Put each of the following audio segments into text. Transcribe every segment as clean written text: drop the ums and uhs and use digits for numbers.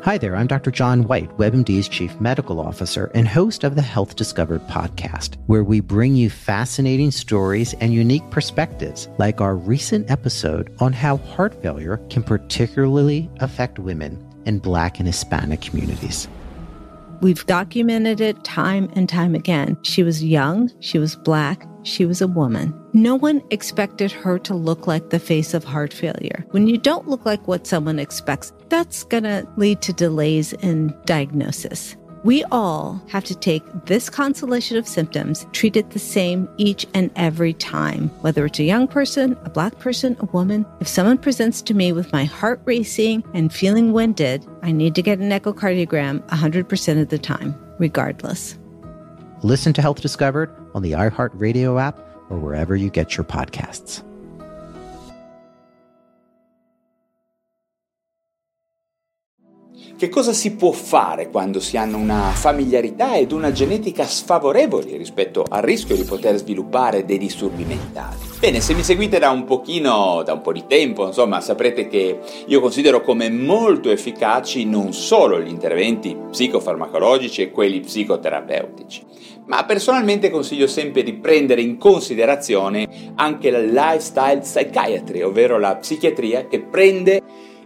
Hi there, I'm Dr. John White, WebMD's Chief Medical Officer and host of the Health Discovered podcast, where we bring you fascinating stories and unique perspectives, like our recent episode on how heart failure can particularly affect women in Black and Hispanic communities. We've documented it time and time again. She was young, she was Black, she was a woman. No one expected her to look like the face of heart failure. When you don't look like what someone expects, that's going to lead to delays in diagnosis. We all have to take this constellation of symptoms, treat it the same each and every time, whether it's a young person, a Black person, a woman. If someone presents to me with my heart racing and feeling winded, I need to get an echocardiogram 100% of the time, regardless. Listen to Health Discovered on the iHeartRadio app or wherever you get your podcasts. Che cosa si può fare quando si hanno una familiarità ed una genetica sfavorevoli rispetto al rischio di poter sviluppare dei disturbi mentali? Bene, se mi seguite da un po' di tempo, insomma, saprete che io considero come molto efficaci non solo gli interventi psicofarmacologici e quelli psicoterapeutici, ma personalmente consiglio sempre di prendere in considerazione anche la lifestyle psychiatry, ovvero la psichiatria che prende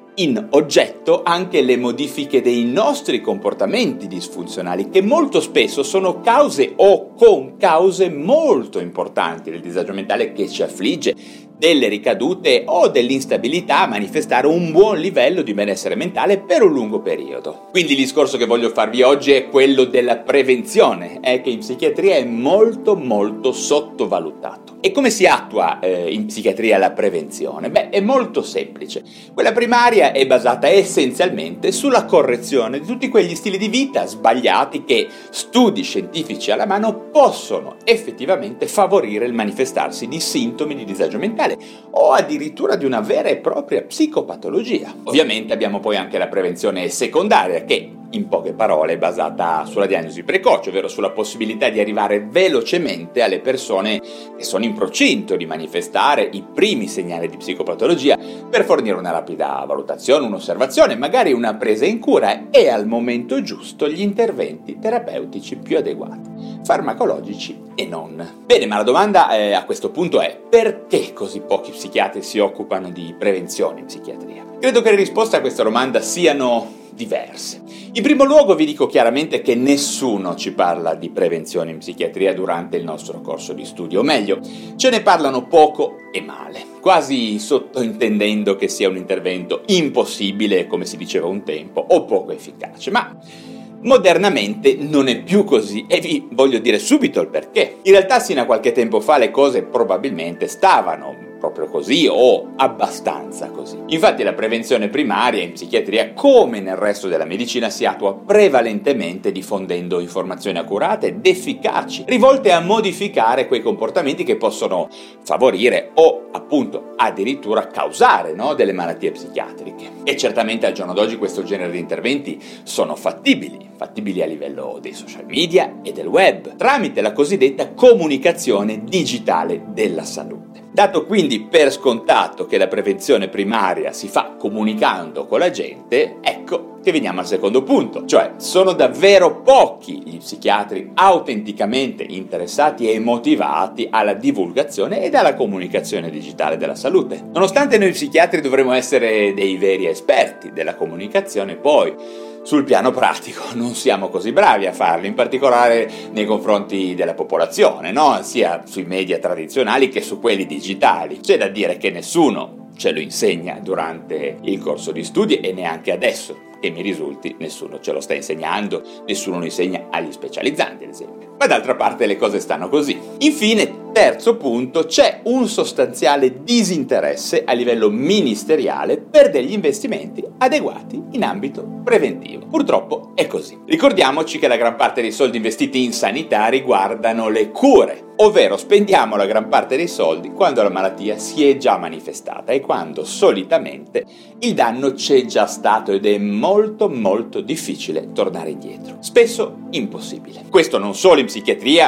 in oggetto anche le modifiche dei nostri comportamenti disfunzionali, che molto spesso sono cause o concause molto importanti del disagio mentale che ci affligge, delle ricadute o dell'instabilità a manifestare un buon livello di benessere mentale per un lungo periodo. Quindi il discorso che voglio farvi oggi è quello della prevenzione, che in psichiatria è molto sottovalutato. E come si attua in psichiatria la prevenzione? Beh, è molto semplice. Quella primaria è basata essenzialmente sulla correzione di tutti quegli stili di vita sbagliati che studi scientifici alla mano possono effettivamente favorire il manifestarsi di sintomi di disagio mentale o addirittura di una vera e propria psicopatologia. Ovviamente abbiamo poi anche la prevenzione secondaria, che in poche parole è basata sulla diagnosi precoce, ovvero sulla possibilità di arrivare velocemente alle persone che sono in procinto di manifestare i primi segnali di psicopatologia per fornire una rapida valutazione, un'osservazione, magari una presa in cura e al momento giusto gli interventi terapeutici più adeguati, farmacologici e non. Bene, ma la domanda a questo punto è: perché così pochi psichiatri si occupano di prevenzione in psichiatria? Credo che le risposte a questa domanda siano diverse. In primo luogo vi dico chiaramente che nessuno ci parla di prevenzione in psichiatria durante il nostro corso di studio, o meglio, ce ne parlano poco e male, quasi sottointendendo che sia un intervento impossibile, come si diceva un tempo, o poco efficace, ma modernamente non è più così e vi voglio dire subito il perché. In realtà sino a qualche tempo fa le cose probabilmente stavano proprio così o abbastanza così. Infatti la prevenzione primaria in psichiatria, come nel resto della medicina, si attua prevalentemente diffondendo informazioni accurate ed efficaci, rivolte a modificare quei comportamenti che possono favorire o appunto addirittura causare delle malattie psichiatriche. E certamente al giorno d'oggi questo genere di interventi sono fattibili a livello dei social media e del web, tramite la cosiddetta comunicazione digitale della salute. Dato quindi per scontato che la prevenzione primaria si fa comunicando con la gente, ecco che veniamo al secondo punto, cioè sono davvero pochi gli psichiatri autenticamente interessati e motivati alla divulgazione ed alla comunicazione digitale della salute. Nonostante noi psichiatri dovremmo essere dei veri esperti della comunicazione, poi sul piano pratico non siamo così bravi a farlo, in particolare nei confronti della popolazione, sia sui media tradizionali che su quelli digitali. C'è da dire che nessuno ce lo insegna durante il corso di studi e neanche adesso, che mi risulti, nessuno ce lo sta insegnando, nessuno lo insegna agli specializzanti, ad esempio. Ma d'altra parte le cose stanno così. Infine, terzo punto, c'è un sostanziale disinteresse a livello ministeriale per degli investimenti adeguati in ambito preventivo. Purtroppo è così. Ricordiamoci che la gran parte dei soldi investiti in sanità riguardano le cure, ovvero spendiamo la gran parte dei soldi quando la malattia si è già manifestata e quando solitamente il danno c'è già stato ed è molto difficile tornare indietro, spesso impossibile. Questo non solo in psichiatria, ma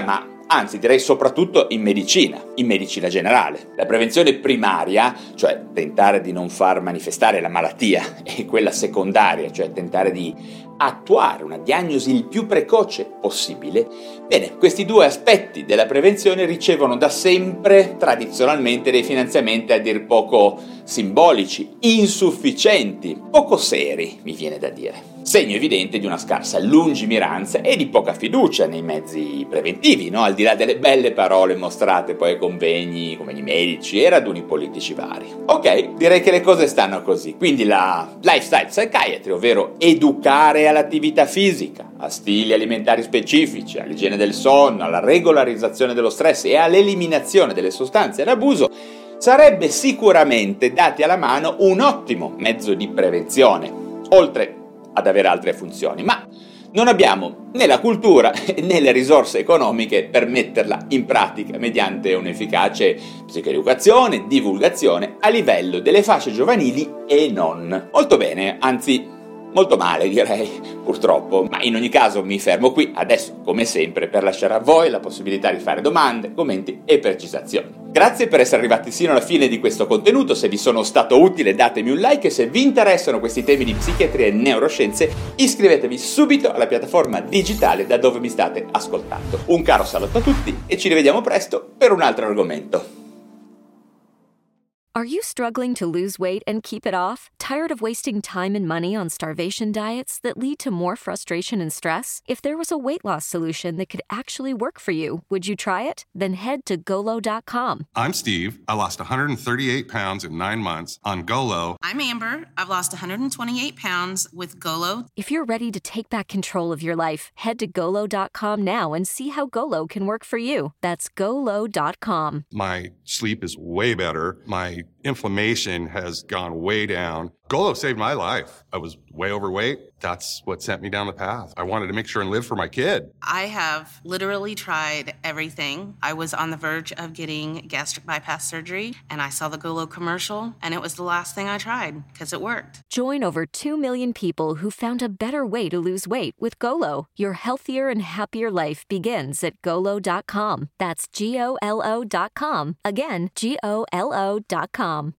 anzi direi soprattutto in medicina generale. La prevenzione primaria, cioè tentare di non far manifestare la malattia, e quella secondaria, cioè tentare di attuare una diagnosi il più precoce possibile. Bene, questi due aspetti della prevenzione ricevono da sempre tradizionalmente dei finanziamenti a dir poco simbolici, insufficienti, poco seri, mi viene da dire. Segno evidente di una scarsa lungimiranza e di poca fiducia nei mezzi preventivi, no? Al di là delle belle parole mostrate poi ai convegni medici e raduni politici vari. Ok, direi che le cose stanno così. Quindi la lifestyle psychiatry, ovvero educare all'attività fisica, a stili alimentari specifici, all'igiene del sonno, alla regolarizzazione dello stress e all'eliminazione delle sostanze ad abuso, sarebbe sicuramente, dati alla mano, un ottimo mezzo di prevenzione, oltre ad avere altre funzioni, ma non abbiamo né la cultura né le risorse economiche per metterla in pratica mediante un'efficace psicoeducazione, divulgazione a livello delle fasce giovanili e non. Molto bene, anzi molto male direi, purtroppo, ma in ogni caso mi fermo qui adesso, come sempre, per lasciare a voi la possibilità di fare domande, commenti e precisazioni. Grazie per essere arrivati sino alla fine di questo contenuto. Se vi sono stato utile datemi un like e se vi interessano questi temi di psichiatria e neuroscienze iscrivetevi subito alla piattaforma digitale da dove mi state ascoltando. Un caro saluto a tutti e ci rivediamo presto per un altro argomento. Are you struggling to lose weight and keep it off? Tired of wasting time and money on starvation diets that lead to more frustration and stress? If there was a weight loss solution that could actually work for you, would you try it? Then head to Golo.com. I'm Steve. I lost 138 pounds in 9 months on Golo. I'm Amber. I've lost 128 pounds with Golo. If you're ready to take back control of your life, head to Golo.com now and see how Golo can work for you. That's Golo.com. My sleep is way better. My inflammation has gone way down. Golo saved my life. I was way overweight. That's what sent me down the path. I wanted to make sure and live for my kid. I have literally tried everything. I was on the verge of getting gastric bypass surgery, and I saw the Golo commercial, and it was the last thing I tried because it worked. Join over 2 million people who found a better way to lose weight with Golo. Your healthier and happier life begins at Golo.com. That's Golo.com. Again, Golo.com.